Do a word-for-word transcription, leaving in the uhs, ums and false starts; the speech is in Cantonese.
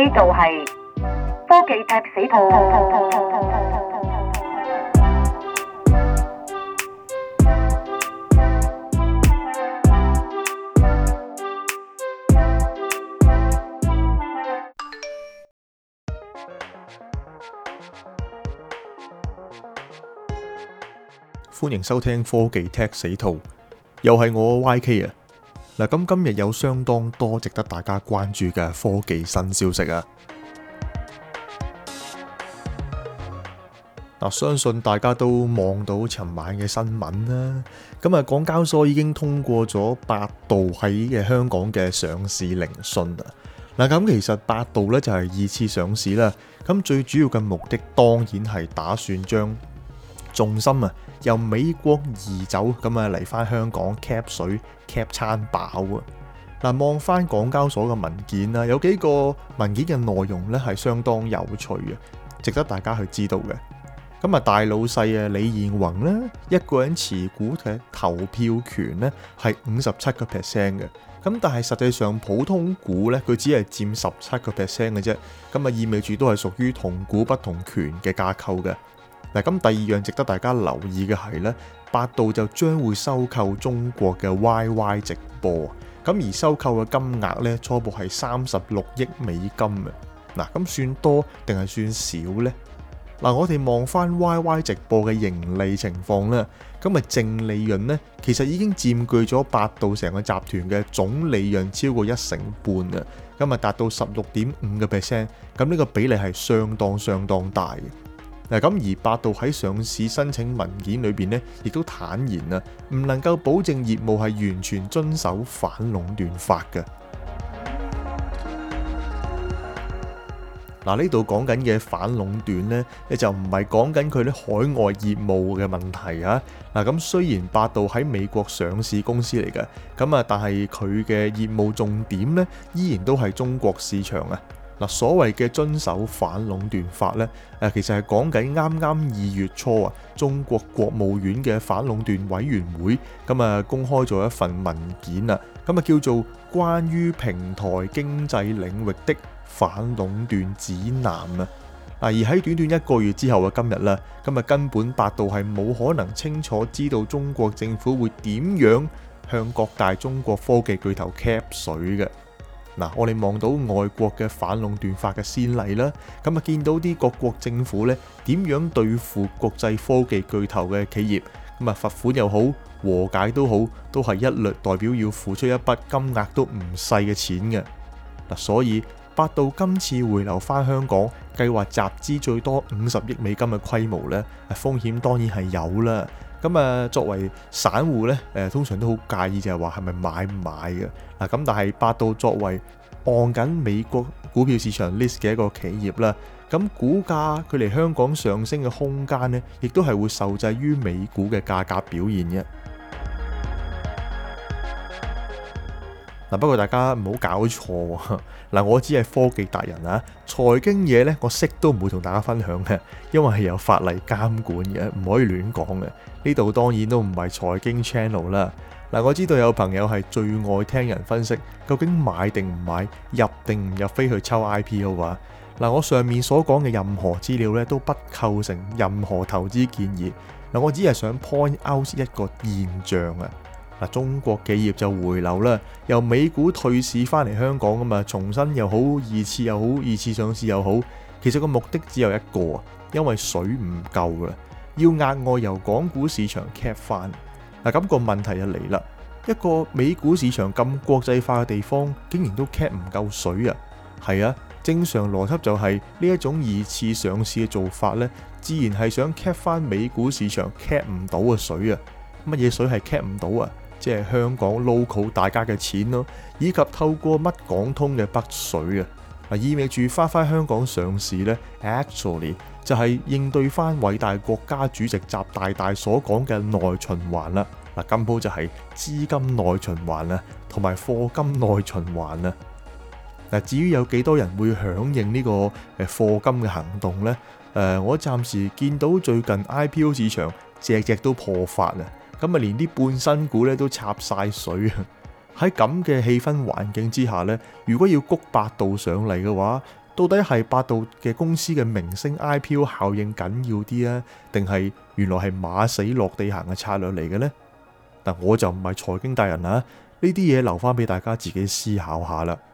呢度係科技踢死兔。 歡迎收聽科技踢死兔，又係我 Y K 啊！嗱，咁今日有相當多值得大家關注嘅科技新消息啊！嗱，相信大家都望到尋晚嘅新聞啦。咁啊，港交所已經通過咗百度喺嘅香港嘅上市聆訊啊！嗱，咁其實百度咧就係二次上市啦。咁最主要嘅目的當然係打算將重心啊由美國移走，咁啊嚟翻香港 cap 水 cap 餐飽啊！嗱，望翻港交所嘅文件啊，有幾個文件嘅內容咧係相當有趣嘅，值得大家去知道嘅。咁啊，大老細啊李彥宏咧一個人持股嘅投票權咧係五十七個 percent 嘅，咁但係實際上普通股咧佢只係佔十七個 percent 嘅啫，咁啊意味住都係屬於同股不同權嘅架構嘅。嗱，咁第二樣值得大家留意嘅係咧，百度就將會收購中國嘅 Y Y 直播，咁而收購嘅金額咧初步係三十六億美金嘅。嗱，咁算多定係算少呢？嗱，我哋望翻 Y Y 直播嘅盈利情況咧，咁啊淨利潤咧其實已經佔據咗百度成個集團嘅總利潤超過一成半啊，咁啊達到十六點五個 percent， 咁呢個比例係相當相當大嘅。嗱，咁而百度喺上市申請文件裏邊咧，亦都坦言啊，唔能夠保證業務係完全遵守反壟斷法嘅。嗱，呢度講緊嘅反壟斷咧，你就唔係講緊佢啲海外業務嘅問題啊。嗱，咁雖然百度喺美國上市公司嚟嘅，咁啊，但係佢嘅業務重點咧，依然都係中國市場啊。嗱，所謂嘅遵守反壟斷法咧，誒其實係講緊啱啱二月初啊，中國國務院嘅反壟斷委員會咁啊公開咗一份文件啊，咁啊叫做關於平台經濟領域的反壟斷指南啊。嗱，而喺短短一個月之後嘅今日啦，咁啊根本百度係冇可能清楚知道中國政府會點樣向各大中國科技巨頭 cap 水嘅。嗱，我哋望到外國嘅反壟斷法嘅先例啦，咁啊見到啲各國政府咧點樣對付國際科技巨頭嘅企業，咁啊罰款又好，和解都好，都係一律代表要付出一筆金額都唔細嘅錢嘅。嗱，所以百度今次回流翻香港，計劃集資最多五十億美金嘅規模咧，風險當然係有啦。咁啊，作為散戶咧，誒通常都好介意就係話係咪買唔買嘅嗱。咁但係百度作為按緊美國股票市場 list 嘅一個企業啦，咁股價佢嚟香港上升嘅空間咧，亦都係會受制於美股嘅價格表現嘅。嗱，不過大家唔好搞錯嗱，我只係科技達人啊，財經嘢咧我識都唔會同大家分享嘅，因為係有法例監管嘅，唔可以亂講嘅。呢度當然都唔係財經 channel 啦。嗱，我知道有朋友係最愛聽人分析究竟買定唔買，入定唔入飛去抽 I P O 啊。嗱，我上面所講嘅任何資料咧都不構成任何投資建議。嗱，我只係想 point out 一個現象啊。嗱，中國企業就回流啦，由美股退市翻嚟香港㗎嘛，重新又好，二次又好，二次上市又好，其實個目的只有一個啊，因為水唔夠啦，要額外由港股市場 cap 翻。嗱，咁個問題就嚟啦，一個美股市場咁國際化嘅地方，竟然都 cap 唔夠水啊？係啊，正常邏輯就係呢一種二次上市嘅做法呢，自然係想 cap 翻美股市場 cap 唔到嘅水啊。乜嘢水係 cap 唔到啊？即係香港 local 大家嘅錢咯，以及透過乜港通嘅北水啊，嗱，意味住翻返香港上市呢 actually 就係應對翻偉大國家主席習大大所講嘅內循環啦。嗱，根本就係資金內循環啊，同埋課金內循環啊。嗱，至於有幾多人會響應呢個誒課金嘅行動呢？誒，我暫時見到最近 I P O 市場隻隻都破發啊！咁啊，連啲半新股咧都插晒水啊！喺咁嘅氣氛環境之下咧，如果要谷百度上嚟嘅話， 到底係百度嘅公司嘅明星 I P O 效應緊要啲啊，定係原來係馬死落地行嘅策略嚟嘅呢？但我就唔係財經大人啊，呢啲嘢留翻俾大家自己思考下啦。